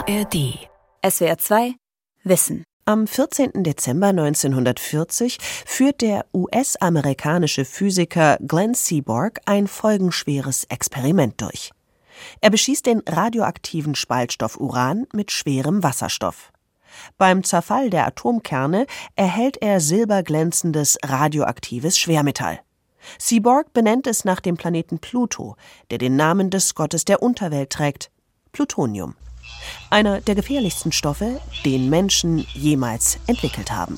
ARD. SWR 2 Wissen. Am 14. Dezember 1940 führt der US-amerikanische Physiker Glenn Seaborg ein folgenschweres Experiment durch. Er beschießt den radioaktiven Spaltstoff Uran mit schwerem Wasserstoff. Beim Zerfall der Atomkerne erhält er silberglänzendes radioaktives Schwermetall. Seaborg benennt es nach dem Planeten Pluto, der den Namen des Gottes der Unterwelt trägt: Plutonium. Einer der gefährlichsten Stoffe, den Menschen jemals entwickelt haben.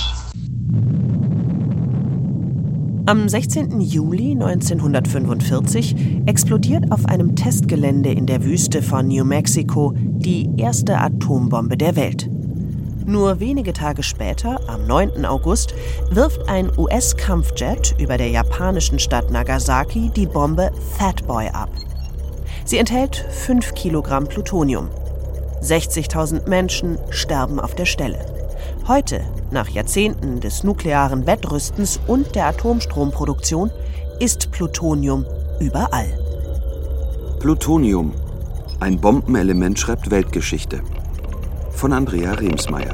Am 16. Juli 1945 explodiert auf einem Testgelände in der Wüste von New Mexico die erste Atombombe der Welt. Nur wenige Tage später, am 9. August, wirft ein US-Kampfjet über der japanischen Stadt Nagasaki die Bombe Fat Boy ab. Sie enthält 5 Kilogramm Plutonium. 60.000 Menschen sterben auf der Stelle. Heute, nach Jahrzehnten des nuklearen Wettrüstens und der Atomstromproduktion, ist Plutonium überall. Plutonium, ein Bombenelement schreibt Weltgeschichte. Von Andrea Remsmeier.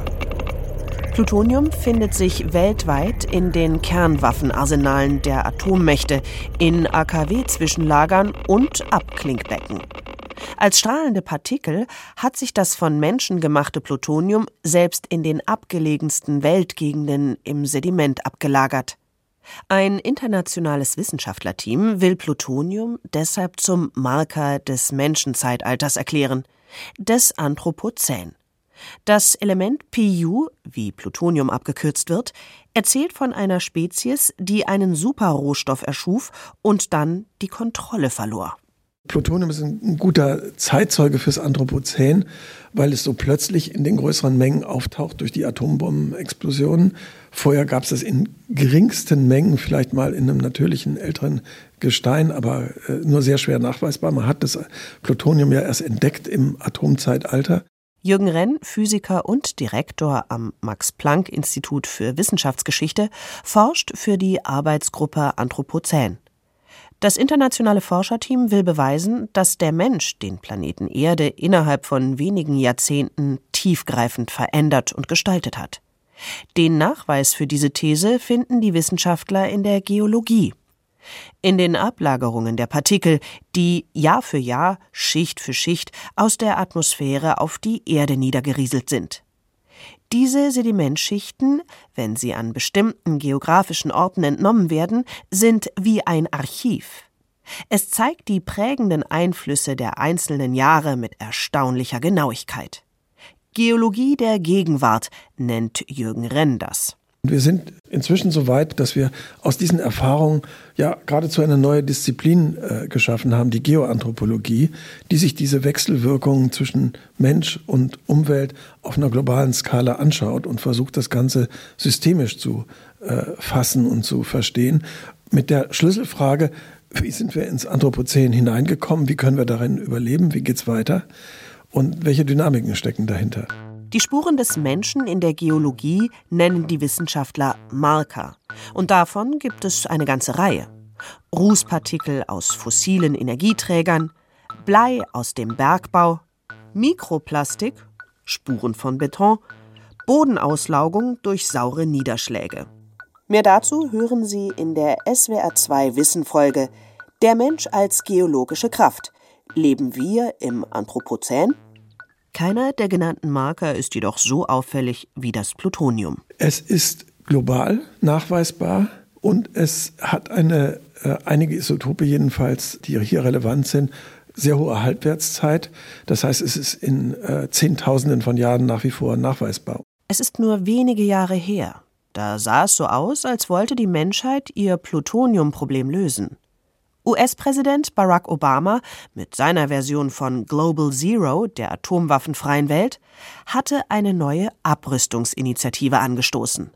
Plutonium findet sich weltweit in den Kernwaffenarsenalen der Atommächte, in AKW-Zwischenlagern und Abklingbecken. Als strahlende Partikel hat sich das von Menschen gemachte Plutonium selbst in den abgelegensten Weltgegenden im Sediment abgelagert. Ein internationales Wissenschaftlerteam will Plutonium deshalb zum Marker des Menschenzeitalters erklären, des Anthropozän. Das Element Pu, wie Plutonium abgekürzt wird, erzählt von einer Spezies, die einen Superrohstoff erschuf und dann die Kontrolle verlor. Plutonium ist ein guter Zeitzeuge fürs Anthropozän, weil es so plötzlich in den größeren Mengen auftaucht durch die Atombombenexplosionen. Vorher gab es es in geringsten Mengen, vielleicht mal in einem natürlichen älteren Gestein, aber nur sehr schwer nachweisbar. Man hat das Plutonium ja erst entdeckt im Atomzeitalter. Jürgen Renn, Physiker und Direktor am Max-Planck-Institut für Wissenschaftsgeschichte, forscht für die Arbeitsgruppe Anthropozän. Das internationale Forscherteam will beweisen, dass der Mensch den Planeten Erde innerhalb von wenigen Jahrzehnten tiefgreifend verändert und gestaltet hat. Den Nachweis für diese These finden die Wissenschaftler in der Geologie. In den Ablagerungen der Partikel, die Jahr für Jahr, Schicht für Schicht aus der Atmosphäre auf die Erde niedergerieselt sind. Diese Sedimentschichten, wenn sie an bestimmten geografischen Orten entnommen werden, sind wie ein Archiv. Es zeigt die prägenden Einflüsse der einzelnen Jahre mit erstaunlicher Genauigkeit. Geologie der Gegenwart nennt Jürgen Renn das. Wir sind inzwischen so weit, dass wir aus diesen Erfahrungen ja geradezu eine neue Disziplin geschaffen haben, die Geoanthropologie, die sich diese Wechselwirkungen zwischen Mensch und Umwelt auf einer globalen Skala anschaut und versucht, das Ganze systemisch zu fassen und zu verstehen. Mit der Schlüsselfrage: Wie sind wir ins Anthropozän hineingekommen? Wie können wir darin überleben? Wie geht's weiter? Und welche Dynamiken stecken dahinter? Die Spuren des Menschen in der Geologie nennen die Wissenschaftler Marker. Und davon gibt es eine ganze Reihe. Rußpartikel aus fossilen Energieträgern, Blei aus dem Bergbau, Mikroplastik, Spuren von Beton, Bodenauslaugung durch saure Niederschläge. Mehr dazu hören Sie in der SWR 2 Wissen-Folge Der Mensch als geologische Kraft. Leben wir im Anthropozän? Keiner der genannten Marker ist jedoch so auffällig wie das Plutonium. Es ist global nachweisbar und es hat einige Isotope jedenfalls, die hier relevant sind, sehr hohe Halbwertszeit. Das heißt, es ist in Zehntausenden von Jahren nach wie vor nachweisbar. Es ist nur wenige Jahre her. Da sah es so aus, als wollte die Menschheit ihr Plutoniumproblem lösen. US-Präsident Barack Obama mit seiner Version von Global Zero, der atomwaffenfreien Welt, hatte eine neue Abrüstungsinitiative angestoßen.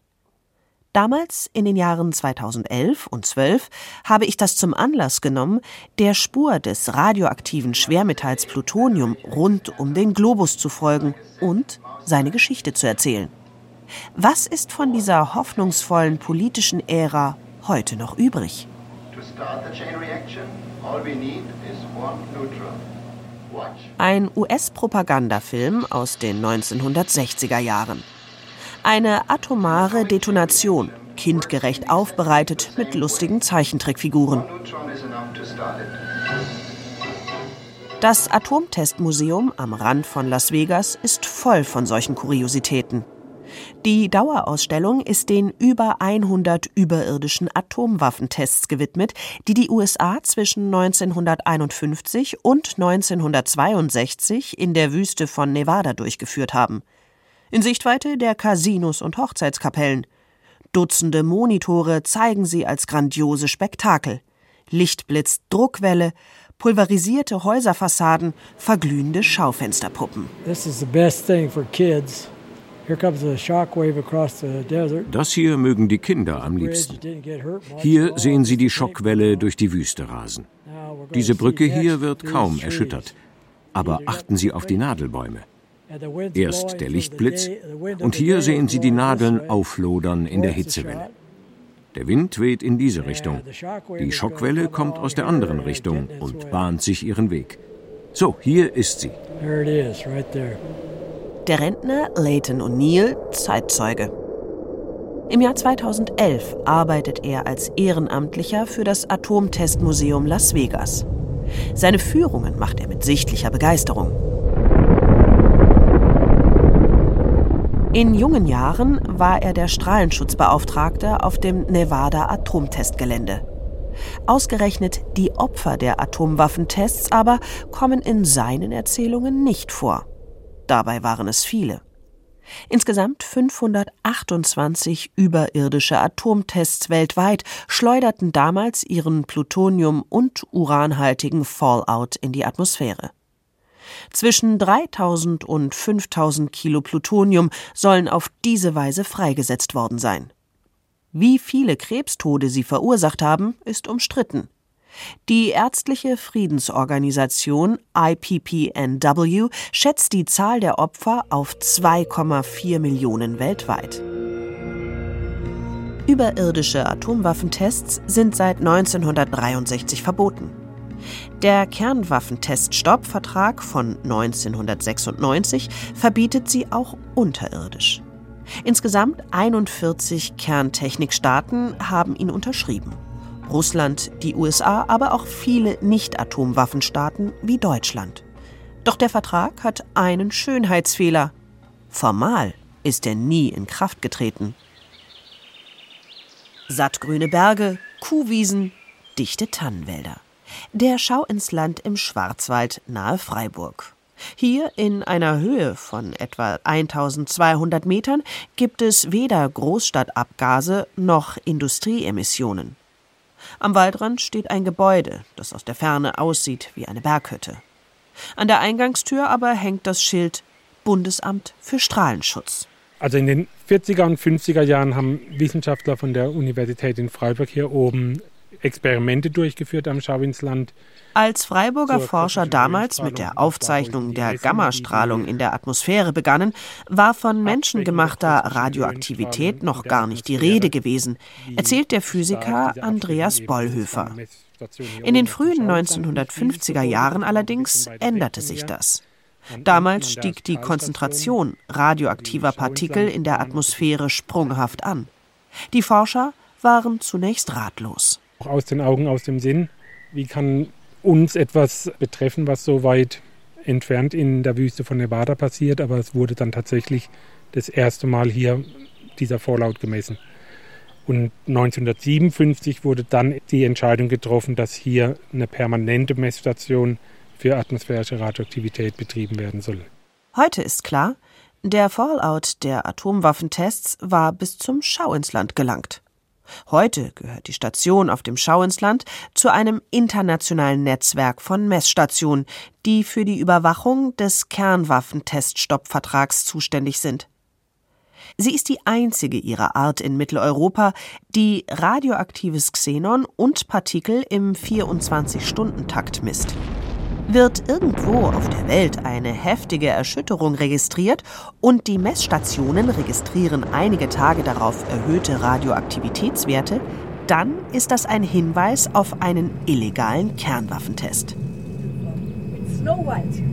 Damals, in den Jahren 2011 und 2012, habe ich das zum Anlass genommen, der Spur des radioaktiven Schwermetalls Plutonium rund um den Globus zu folgen und seine Geschichte zu erzählen. Was ist von dieser hoffnungsvollen politischen Ära heute noch übrig? To start the chain reaction, all we need is one neutron. Ein US-Propagandafilm aus den 1960er Jahren. Eine atomare Detonation, kindgerecht aufbereitet mit lustigen Zeichentrickfiguren. Das Atomtestmuseum am Rand von Las Vegas ist voll von solchen Kuriositäten. Die Dauerausstellung ist den über 100 überirdischen Atomwaffentests gewidmet, die die USA zwischen 1951 und 1962 in der Wüste von Nevada durchgeführt haben. In Sichtweite der Casinos und Hochzeitskapellen. Dutzende Monitore zeigen sie als grandiose Spektakel. Lichtblitz, Druckwelle, pulverisierte Häuserfassaden, verglühende Schaufensterpuppen. This is the best thing for kids. Here comes a shockwave across the desert. Das hier mögen die Kinder am liebsten. Hier sehen sie die Schockwelle durch die Wüste rasen. Diese Brücke hier wird kaum erschüttert. Aber achten Sie auf die Nadelbäume. Erst der Lichtblitz und hier sehen Sie die Nadeln auflodern in der Hitzewelle. Der Wind weht in diese Richtung. Die Schockwelle kommt aus der anderen Richtung und bahnt sich ihren Weg. So, hier ist sie. Der Rentner Leighton O'Neill, Zeitzeuge. Im Jahr 2011 arbeitet er als Ehrenamtlicher für das Atomtestmuseum Las Vegas. Seine Führungen macht er mit sichtlicher Begeisterung. In jungen Jahren war er der Strahlenschutzbeauftragte auf dem Nevada-Atomtestgelände. Ausgerechnet die Opfer der Atomwaffentests aber kommen in seinen Erzählungen nicht vor. Dabei waren es viele. Insgesamt 528 überirdische Atomtests weltweit schleuderten damals ihren Plutonium- und uranhaltigen Fallout in die Atmosphäre. Zwischen 3.000 und 5.000 Kilo Plutonium sollen auf diese Weise freigesetzt worden sein. Wie viele Krebstode sie verursacht haben, ist umstritten. Die ärztliche Friedensorganisation IPPNW schätzt die Zahl der Opfer auf 2,4 Millionen weltweit. Überirdische Atomwaffentests sind seit 1963 verboten. Der Kernwaffenteststoppvertrag von 1996 verbietet sie auch unterirdisch. Insgesamt 41 Kerntechnikstaaten haben ihn unterschrieben. Russland, die USA, aber auch viele Nicht-Atomwaffenstaaten wie Deutschland. Doch der Vertrag hat einen Schönheitsfehler. Formal ist er nie in Kraft getreten. Sattgrüne Berge, Kuhwiesen, dichte Tannenwälder. Der Schau ins Land im Schwarzwald nahe Freiburg. Hier in einer Höhe von etwa 1200 Metern gibt es weder Großstadtabgase noch Industrieemissionen. Am Waldrand steht ein Gebäude, das aus der Ferne aussieht wie eine Berghütte. An der Eingangstür aber hängt das Schild Bundesamt für Strahlenschutz. Also in den 40er und 50er Jahren haben Wissenschaftler von der Universität in Freiburg hier oben Experimente durchgeführt am Schau ins Land. Als Freiburger Forscher damals mit der Aufzeichnung der Gammastrahlung in der Atmosphäre begannen, war von menschengemachter Radioaktivität noch gar nicht die Rede gewesen, erzählt der Physiker Andreas Bollhöfer. In den frühen 1950er Jahren allerdings änderte sich das. Damals stieg die Konzentration radioaktiver Partikel in der Atmosphäre sprunghaft an. Die Forscher waren zunächst ratlos. Aus den Augen, aus dem Sinn. Wie kann uns etwas betreffen, was so weit entfernt in der Wüste von Nevada passiert? Aber es wurde dann tatsächlich das erste Mal hier dieser Fallout gemessen. Und 1957 wurde dann die Entscheidung getroffen, dass hier eine permanente Messstation für atmosphärische Radioaktivität betrieben werden soll. Heute ist klar, der Fallout der Atomwaffentests war bis zum Schau ins Land gelangt. Heute gehört die Station auf dem Schau ins Land zu einem internationalen Netzwerk von Messstationen, die für die Überwachung des Kernwaffenteststoppvertrags zuständig sind. Sie ist die einzige ihrer Art in Mitteleuropa, die radioaktives Xenon und Partikel im 24-Stunden-Takt misst. Wird irgendwo auf der Welt eine heftige Erschütterung registriert und die Messstationen registrieren einige Tage darauf erhöhte Radioaktivitätswerte, dann ist das ein Hinweis auf einen illegalen Kernwaffentest. Snow White.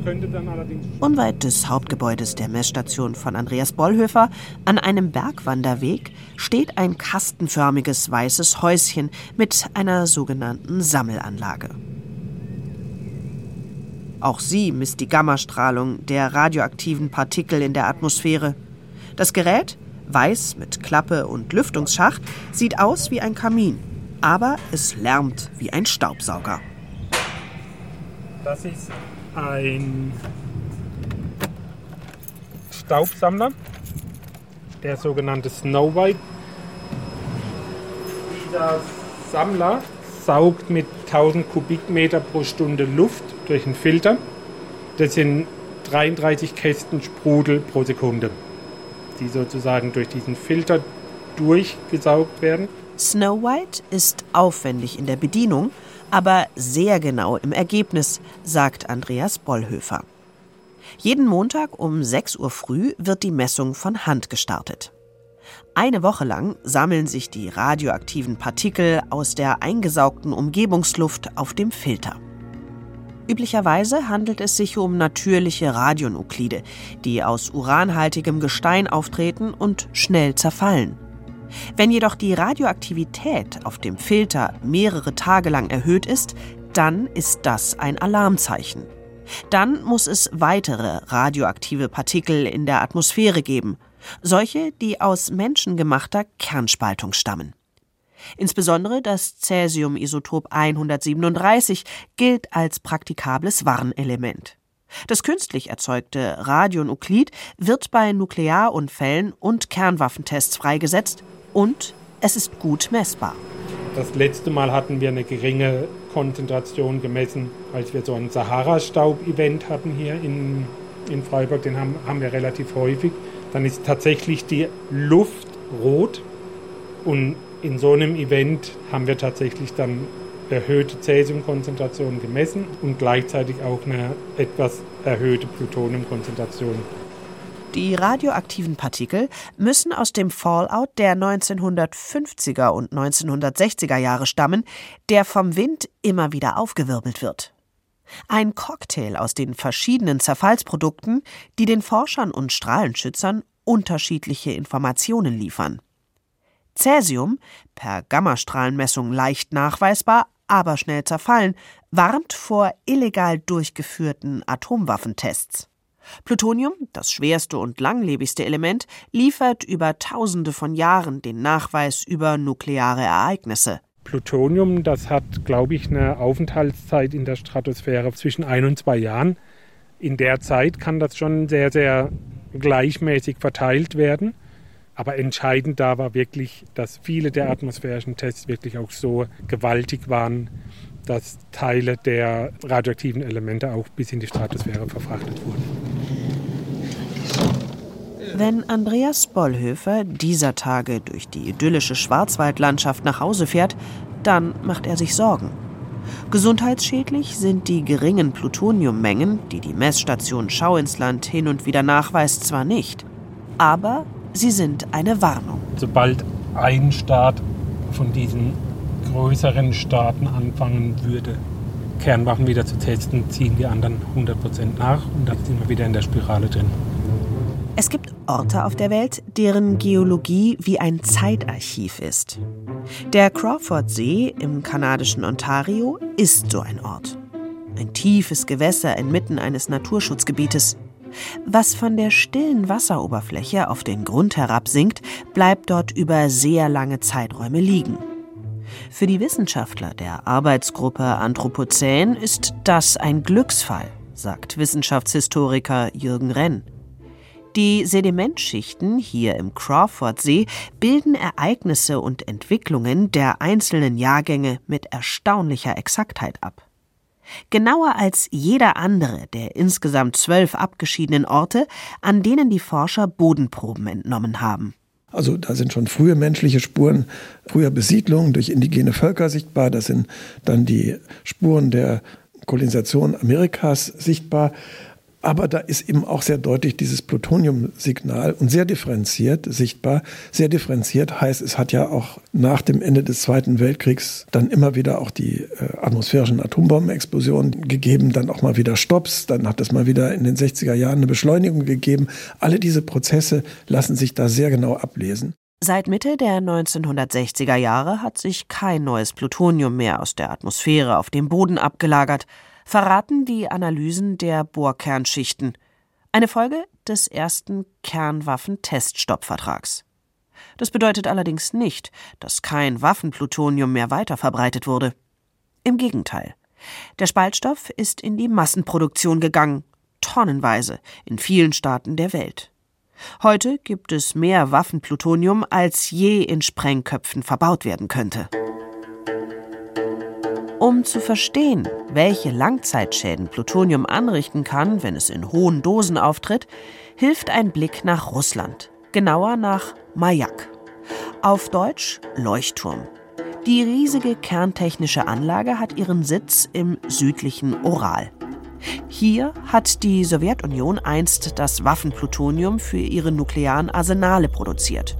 könnte dann allerdings... Unweit des Hauptgebäudes der Messstation von Andreas Bollhöfer, an einem Bergwanderweg, steht ein kastenförmiges weißes Häuschen mit einer sogenannten Sammelanlage. Auch sie misst die Gammastrahlung der radioaktiven Partikel in der Atmosphäre. Das Gerät, weiß mit Klappe und Lüftungsschacht, sieht aus wie ein Kamin, aber es lärmt wie ein Staubsauger. Das ist ein Staubsammler, der sogenannte Snow White. Dieser Sammler saugt mit 1000 Kubikmeter pro Stunde Luft durch einen Filter. Das sind 33 Kästen Sprudel pro Sekunde, die sozusagen durch diesen Filter durchgesaugt werden. Snow White ist aufwendig in der Bedienung, aber sehr genau im Ergebnis, sagt Andreas Bollhöfer. Jeden Montag um 6 Uhr früh wird die Messung von Hand gestartet. Eine Woche lang sammeln sich die radioaktiven Partikel aus der eingesaugten Umgebungsluft auf dem Filter. Üblicherweise handelt es sich um natürliche Radionuklide, die aus uranhaltigem Gestein auftreten und schnell zerfallen. Wenn jedoch die Radioaktivität auf dem Filter mehrere Tage lang erhöht ist, dann ist das ein Alarmzeichen. Dann muss es weitere radioaktive Partikel in der Atmosphäre geben, solche, die aus menschengemachter Kernspaltung stammen. Insbesondere das Cäsium-Isotop 137 gilt als praktikables Warnelement. Das künstlich erzeugte Radionuklid wird bei Nuklearunfällen und Kernwaffentests freigesetzt und es ist gut messbar. Das letzte Mal hatten wir eine geringe Konzentration gemessen, als wir so ein Sahara-Staub-Event hatten hier in Freiburg. Den haben wir relativ häufig. Dann ist tatsächlich die Luft rot und in so einem Event haben wir tatsächlich dann erhöhte Cäsiumkonzentration gemessen und gleichzeitig auch eine etwas erhöhte Plutoniumkonzentration. Die radioaktiven Partikel müssen aus dem Fallout der 1950er und 1960er Jahre stammen, der vom Wind immer wieder aufgewirbelt wird. Ein Cocktail aus den verschiedenen Zerfallsprodukten, die den Forschern und Strahlenschützern unterschiedliche Informationen liefern. Cäsium, per Gammastrahlenmessung leicht nachweisbar, aber schnell zerfallen, warnt vor illegal durchgeführten Atomwaffentests. Plutonium, das schwerste und langlebigste Element, liefert über Tausende von Jahren den Nachweis über nukleare Ereignisse. Plutonium, das hat, glaube ich, eine Aufenthaltszeit in der Stratosphäre zwischen 1 und 2 Jahren. In der Zeit kann das schon sehr, sehr gleichmäßig verteilt werden. Aber entscheidend da war wirklich, dass viele der atmosphärischen Tests wirklich auch so gewaltig waren, dass Teile der radioaktiven Elemente auch bis in die Stratosphäre verfrachtet wurden. Wenn Andreas Bollhöfer dieser Tage durch die idyllische Schwarzwaldlandschaft nach Hause fährt, dann macht er sich Sorgen. Gesundheitsschädlich sind die geringen Plutoniummengen, die die Messstation Schauinsland hin und wieder nachweist, zwar nicht, aber sie sind eine Warnung. Sobald ein Staat von diesen größeren Staaten anfangen würde, Kernwaffen wieder zu testen, ziehen die anderen 100% nach und dann sind wir wieder in der Spirale drin. Es gibt Orte auf der Welt, deren Geologie wie ein Zeitarchiv ist. Der Crawfordsee im kanadischen Ontario ist so ein Ort. Ein tiefes Gewässer inmitten eines Naturschutzgebietes. Was von der stillen Wasseroberfläche auf den Grund herabsinkt, bleibt dort über sehr lange Zeiträume liegen. Für die Wissenschaftler der Arbeitsgruppe Anthropozän ist das ein Glücksfall, sagt Wissenschaftshistoriker Jürgen Renn. Die Sedimentschichten hier im Crawfordsee bilden Ereignisse und Entwicklungen der einzelnen Jahrgänge mit erstaunlicher Exaktheit ab. Genauer als jeder andere der insgesamt 12 abgeschiedenen Orte, an denen die Forscher Bodenproben entnommen haben. Also da sind schon frühe menschliche Spuren, früher Besiedlungen durch indigene Völker sichtbar. Das sind dann die Spuren der Kolonisation Amerikas sichtbar. Aber da ist eben auch sehr deutlich dieses Plutoniumsignal und sehr differenziert sichtbar. Sehr differenziert heißt, es hat ja auch nach dem Ende des Zweiten Weltkriegs dann immer wieder auch die atmosphärischen Atombombenexplosionen gegeben, dann auch mal wieder Stopps, dann hat es mal wieder in den 60er Jahren eine Beschleunigung gegeben. Alle diese Prozesse lassen sich da sehr genau ablesen. Seit Mitte der 1960er Jahre hat sich kein neues Plutonium mehr aus der Atmosphäre auf dem Boden abgelagert, verraten die Analysen der Bohrkernschichten. Eine Folge des ersten Kernwaffenteststoppvertrags. Das bedeutet allerdings nicht, dass kein Waffenplutonium mehr weiterverbreitet wurde. Im Gegenteil. Der Spaltstoff ist in die Massenproduktion gegangen, tonnenweise, in vielen Staaten der Welt. Heute gibt es mehr Waffenplutonium, als je in Sprengköpfen verbaut werden könnte. Um zu verstehen, welche Langzeitschäden Plutonium anrichten kann, wenn es in hohen Dosen auftritt, hilft ein Blick nach Russland, genauer nach Majak. Auf Deutsch Leuchtturm. Die riesige kerntechnische Anlage hat ihren Sitz im südlichen Ural. Hier hat die Sowjetunion einst das Waffenplutonium für ihre nuklearen Arsenale produziert.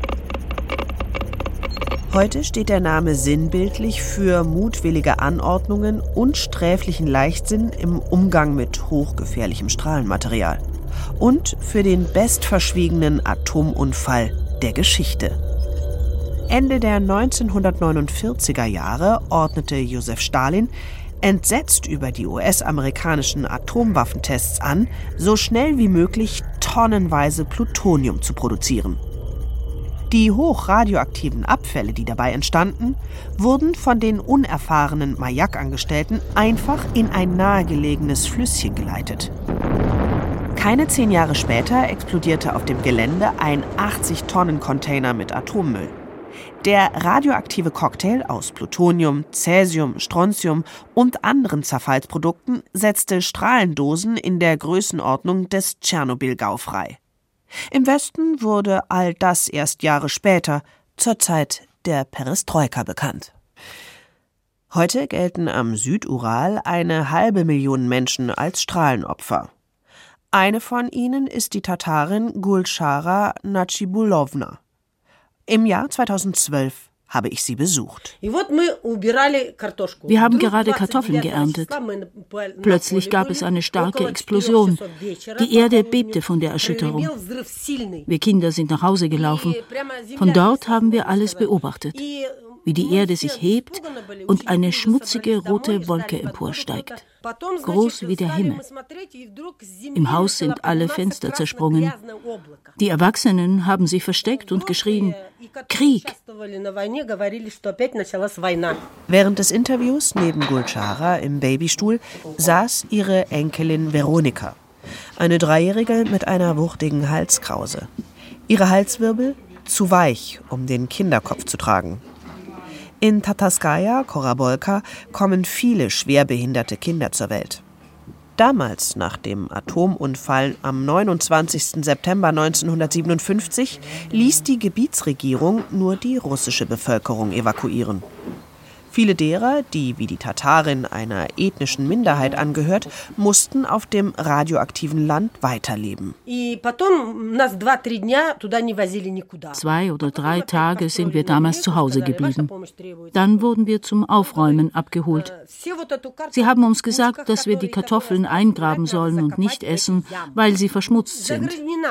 Heute steht der Name sinnbildlich für mutwillige Anordnungen und sträflichen Leichtsinn im Umgang mit hochgefährlichem Strahlenmaterial. Und für den bestverschwiegenen Atomunfall der Geschichte. Ende der 1949er Jahre ordnete Josef Stalin, entsetzt über die US-amerikanischen Atomwaffentests an, so schnell wie möglich tonnenweise Plutonium zu produzieren. Die hochradioaktiven Abfälle, die dabei entstanden, wurden von den unerfahrenen Majak-Angestellten einfach in ein nahegelegenes Flüsschen geleitet. Keine 10 Jahre später explodierte auf dem Gelände ein 80-Tonnen-Container mit Atommüll. Der radioaktive Cocktail aus Plutonium, Cäsium, Strontium und anderen Zerfallsprodukten setzte Strahlendosen in der Größenordnung des Tschernobyl-Gau frei. Im Westen wurde all das erst Jahre später, zur Zeit der Perestroika, bekannt. Heute gelten am Südural 500.000 Menschen als Strahlenopfer. Eine von ihnen ist die Tatarin Gulchara Nachibulowna. Im Jahr 2012 habe ich sie besucht. Wir haben gerade Kartoffeln geerntet. Plötzlich gab es eine starke Explosion. Die Erde bebte von der Erschütterung. Wir Kinder sind nach Hause gelaufen. Von dort haben wir alles beobachtet, wie die Erde sich hebt und eine schmutzige rote Wolke emporsteigt, groß wie der Himmel. Im Haus sind alle Fenster zersprungen. Die Erwachsenen haben sich versteckt und geschrien: Krieg! Während des Interviews neben Gulchara im Babystuhl saß ihre Enkelin Veronika, eine Dreijährige mit einer wuchtigen Halskrause. Ihre Halswirbel zu weich, um den Kinderkopf zu tragen. In Tataskaya, Korabolka, kommen viele schwerbehinderte Kinder zur Welt. Damals, nach dem Atomunfall am 29. September 1957, ließ die Gebietsregierung nur die russische Bevölkerung evakuieren. Viele derer, die wie die Tatarin einer ethnischen Minderheit angehört, mussten auf dem radioaktiven Land weiterleben. 2 oder 3 Tage sind wir damals zu Hause geblieben. Dann wurden wir zum Aufräumen abgeholt. Sie haben uns gesagt, dass wir die Kartoffeln eingraben sollen und nicht essen, weil sie verschmutzt sind.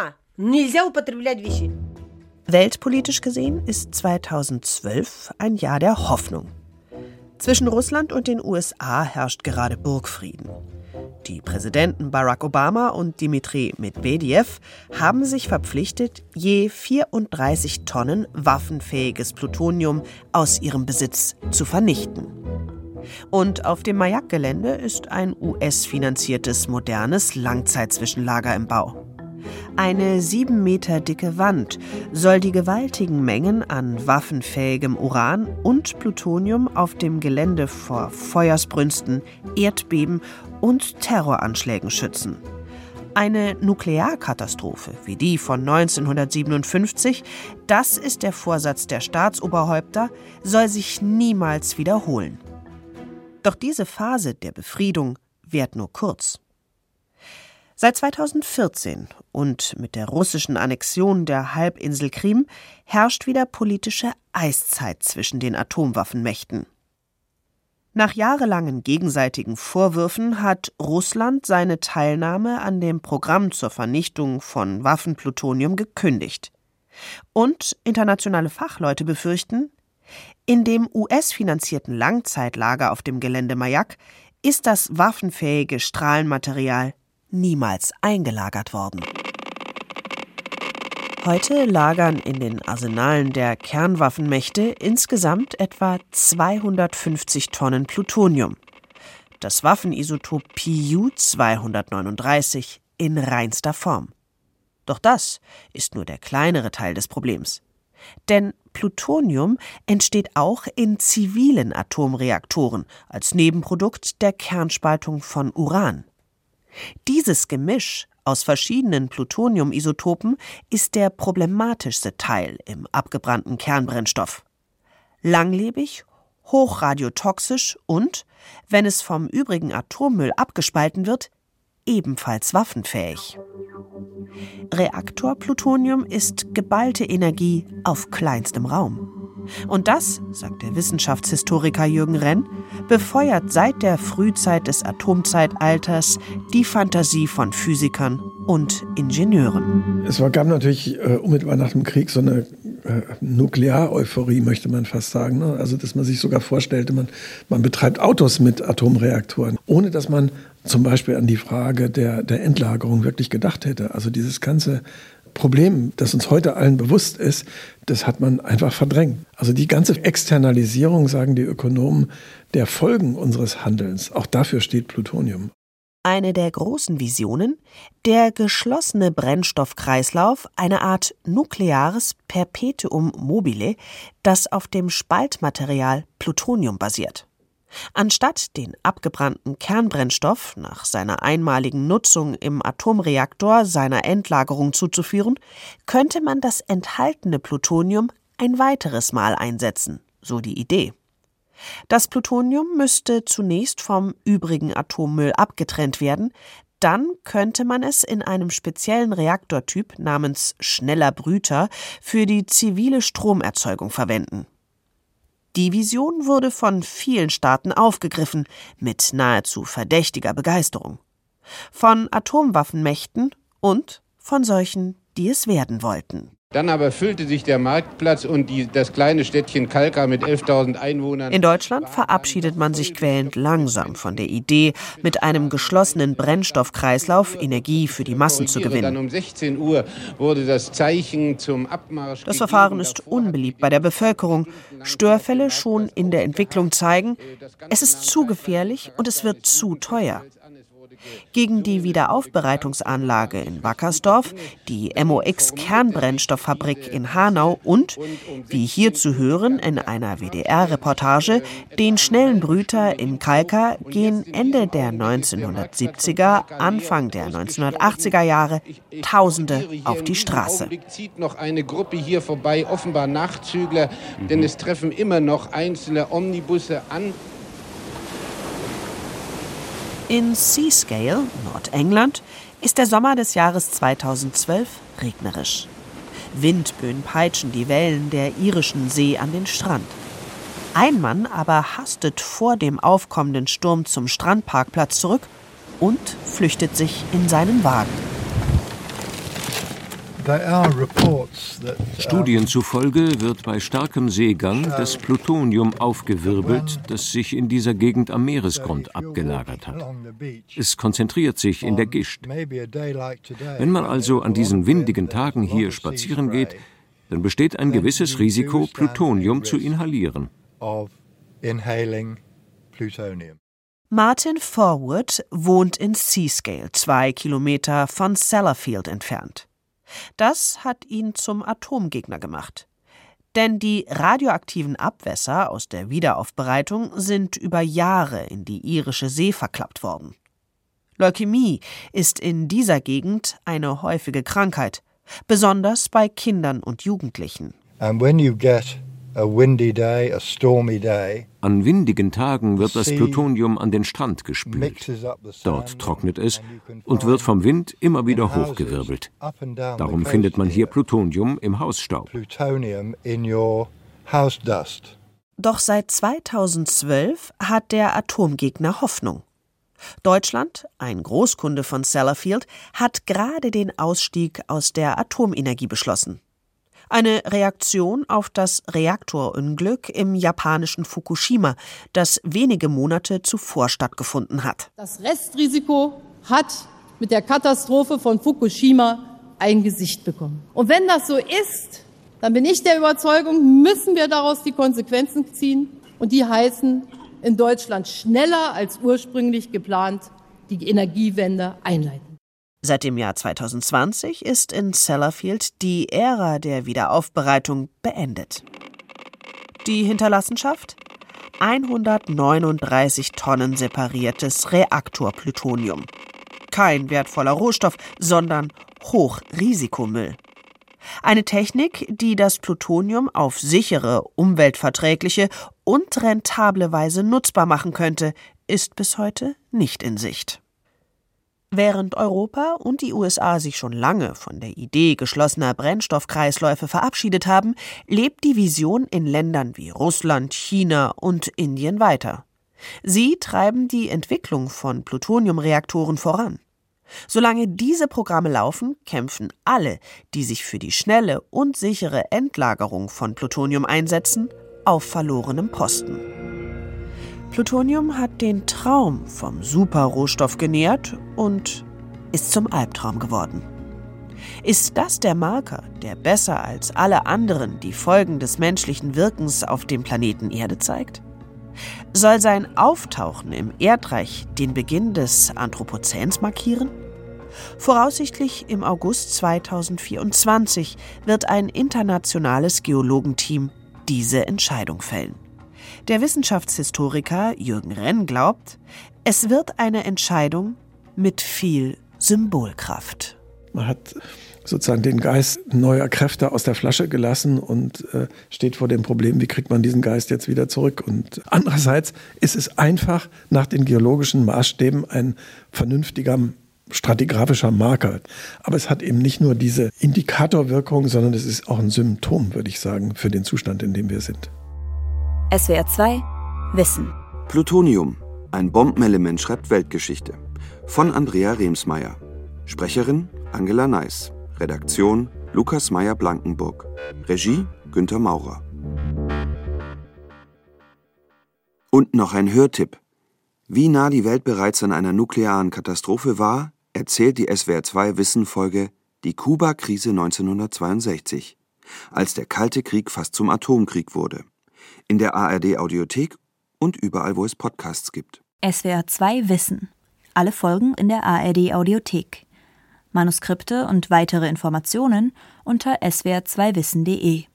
Weltpolitisch gesehen ist 2012 ein Jahr der Hoffnung. Zwischen Russland und den USA herrscht gerade Burgfrieden. Die Präsidenten Barack Obama und Dmitri Medwedew haben sich verpflichtet, je 34 Tonnen waffenfähiges Plutonium aus ihrem Besitz zu vernichten. Und auf dem Majak-Gelände ist ein US-finanziertes modernes Langzeitzwischenlager im Bau. Eine 7 Meter dicke Wand soll die gewaltigen Mengen an waffenfähigem Uran und Plutonium auf dem Gelände vor Feuersbrünsten, Erdbeben und Terroranschlägen schützen. Eine Nuklearkatastrophe wie die von 1957, das ist der Vorsatz der Staatsoberhäupter, soll sich niemals wiederholen. Doch diese Phase der Befriedung währt nur kurz. Seit 2014 und mit der russischen Annexion der Halbinsel Krim herrscht wieder politische Eiszeit zwischen den Atomwaffenmächten. Nach jahrelangen gegenseitigen Vorwürfen hat Russland seine Teilnahme an dem Programm zur Vernichtung von Waffenplutonium gekündigt. Und internationale Fachleute befürchten, in dem US-finanzierten Langzeitlager auf dem Gelände Mayak ist das waffenfähige Strahlenmaterial niemals eingelagert worden. Heute lagern in den Arsenalen der Kernwaffenmächte insgesamt etwa 250 Tonnen Plutonium. Das Waffenisotop Pu-239 in reinster Form. Doch das ist nur der kleinere Teil des Problems. Denn Plutonium entsteht auch in zivilen Atomreaktoren als Nebenprodukt der Kernspaltung von Uran. Dieses Gemisch aus verschiedenen Plutoniumisotopen ist der problematischste Teil im abgebrannten Kernbrennstoff. Langlebig, hochradiotoxisch und, wenn es vom übrigen Atommüll abgespalten wird, ebenfalls waffenfähig. Reaktorplutonium ist geballte Energie auf kleinstem Raum. Und das, sagt der Wissenschaftshistoriker Jürgen Renn, befeuert seit der Frühzeit des Atomzeitalters die Fantasie von Physikern und Ingenieuren. Es gab natürlich unmittelbar nach dem Krieg so eine Nukleareuphorie, möchte man fast sagen. Ne? Also, dass man sich sogar vorstellte, man betreibt Autos mit Atomreaktoren, ohne dass man zum Beispiel an die Frage der Endlagerung wirklich gedacht hätte. Also dieses ganze Problem, das uns heute allen bewusst ist, das hat man einfach verdrängt. Also die ganze Externalisierung, sagen die Ökonomen, der Folgen unseres Handelns, auch dafür steht Plutonium. Eine der großen Visionen, der geschlossene Brennstoffkreislauf, eine Art nukleares Perpetuum mobile, das auf dem Spaltmaterial Plutonium basiert. Anstatt den abgebrannten Kernbrennstoff nach seiner einmaligen Nutzung im Atomreaktor seiner Endlagerung zuzuführen, könnte man das enthaltene Plutonium ein weiteres Mal einsetzen, so die Idee. Das Plutonium müsste zunächst vom übrigen Atommüll abgetrennt werden, dann könnte man es in einem speziellen Reaktortyp namens schneller Brüter für die zivile Stromerzeugung verwenden. Die Vision wurde von vielen Staaten aufgegriffen, mit nahezu verdächtiger Begeisterung. Von Atomwaffenmächten und von solchen, die es werden wollten. Dann aber füllte sich der Marktplatz und das kleine Städtchen Kalkar mit 11.000 Einwohnern. In Deutschland verabschiedet man sich quälend langsam von der Idee, mit einem geschlossenen Brennstoffkreislauf Energie für die Massen zu gewinnen. Dann um 16 Uhr wurde das Zeichen zum Abmarsch. Das Verfahren ist unbeliebt bei der Bevölkerung. Störfälle schon in der Entwicklung zeigen, es ist zu gefährlich und es wird zu teuer. Gegen die Wiederaufbereitungsanlage in Wackersdorf, die MOX-Kernbrennstofffabrik in Hanau und, wie hier zu hören in einer WDR-Reportage, den schnellen Brüter in Kalkar gehen Ende der 1970er, Anfang der 1980er Jahre Tausende auf die Straße. Im Augenblick zieht noch eine Gruppe hier vorbei, offenbar Nachzügler, denn es treffen immer noch einzelne Omnibusse an. In Seascale, Nordengland, ist der Sommer des Jahres 2012 regnerisch. Windböen peitschen die Wellen der irischen See an den Strand. Ein Mann aber hastet vor dem aufkommenden Sturm zum Strandparkplatz zurück und flüchtet sich in seinen Wagen. Studien zufolge wird bei starkem Seegang das Plutonium aufgewirbelt, das sich in dieser Gegend am Meeresgrund abgelagert hat. Es konzentriert sich in der Gischt. Wenn man also an diesen windigen Tagen hier spazieren geht, dann besteht ein gewisses Risiko, Plutonium zu inhalieren. Martin Forward wohnt in Seascale, 2 Kilometer von Sellafield entfernt. Das hat ihn zum Atomgegner gemacht. Denn die radioaktiven Abwässer aus der Wiederaufbereitung sind über Jahre in die irische See verklappt worden. Leukämie ist in dieser Gegend eine häufige Krankheit, besonders bei Kindern und Jugendlichen. And when you get An windigen Tagen wird das Plutonium an den Strand gespült. Dort trocknet es und wird vom Wind immer wieder hochgewirbelt. Darum findet man hier Plutonium im Hausstaub. Doch seit 2012 hat der Atomgegner Hoffnung. Deutschland, ein Großkunde von Sellafield, hat gerade den Ausstieg aus der Atomenergie beschlossen. Eine Reaktion auf das Reaktorunglück im japanischen Fukushima, das wenige Monate zuvor stattgefunden hat. Das Restrisiko hat mit der Katastrophe von Fukushima ein Gesicht bekommen. Und wenn das so ist, dann bin ich der Überzeugung, müssen wir daraus die Konsequenzen ziehen. Und die heißen, in Deutschland schneller als ursprünglich geplant die Energiewende einleiten. Seit dem Jahr 2020 ist in Sellafield die Ära der Wiederaufbereitung beendet. Die Hinterlassenschaft? 139 Tonnen separiertes Reaktorplutonium. Kein wertvoller Rohstoff, sondern Hochrisikomüll. Eine Technik, die das Plutonium auf sichere, umweltverträgliche und rentable Weise nutzbar machen könnte, ist bis heute nicht in Sicht. Während Europa und die USA sich schon lange von der Idee geschlossener Brennstoffkreisläufe verabschiedet haben, lebt die Vision in Ländern wie Russland, China und Indien weiter. Sie treiben die Entwicklung von Plutoniumreaktoren voran. Solange diese Programme laufen, kämpfen alle, die sich für die schnelle und sichere Endlagerung von Plutonium einsetzen, auf verlorenem Posten. Plutonium hat den Traum vom Superrohstoff genährt und ist zum Albtraum geworden. Ist das der Marker, der besser als alle anderen die Folgen des menschlichen Wirkens auf dem Planeten Erde zeigt? Soll sein Auftauchen im Erdreich den Beginn des Anthropozäns markieren? Voraussichtlich im August 2024 wird ein internationales Geologenteam diese Entscheidung fällen. Der Wissenschaftshistoriker Jürgen Renn glaubt, es wird eine Entscheidung mit viel Symbolkraft. Man hat sozusagen den Geist neuer Kräfte aus der Flasche gelassen und steht vor dem Problem, wie kriegt man diesen Geist jetzt wieder zurück. Und andererseits ist es einfach nach den geologischen Maßstäben ein vernünftiger stratigraphischer Marker. Aber es hat eben nicht nur diese Indikatorwirkung, sondern es ist auch ein Symptom, würde ich sagen, für den Zustand, in dem wir sind. SWR 2 Wissen. Plutonium, ein Bombenelement schreibt Weltgeschichte. Von Andrea Remsmeier. Sprecherin Angela Neiß. Redaktion Lukas Meyer-Blankenburg. Regie Günther Maurer. Und noch ein Hörtipp. Wie nah die Welt bereits an einer nuklearen Katastrophe war, erzählt die SWR 2 Wissen-Folge Die Kuba-Krise 1962, als der Kalte Krieg fast zum Atomkrieg wurde. In der ARD-Audiothek und überall, wo es Podcasts gibt. SWR 2 Wissen. Alle Folgen in der ARD-Audiothek. Manuskripte und weitere Informationen unter swr2wissen.de.